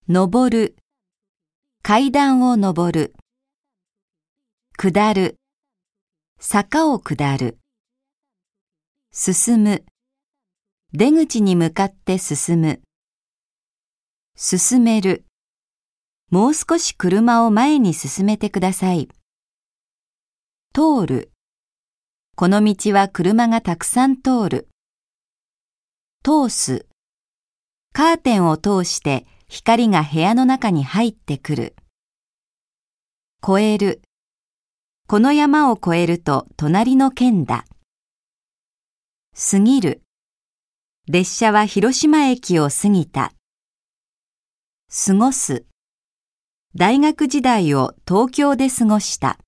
登る、階段を登る。下る、坂を下る。進む、出口に向かって進む。進める、もう少し車を前に進めてください。通る、この道は車がたくさん通る。通す、カーテンを通して光が部屋の中に入ってくる。越える、この山を越えると隣の県だ。過ぎる、列車は広島駅を過ぎた。過ごす、大学時代を東京で過ごした。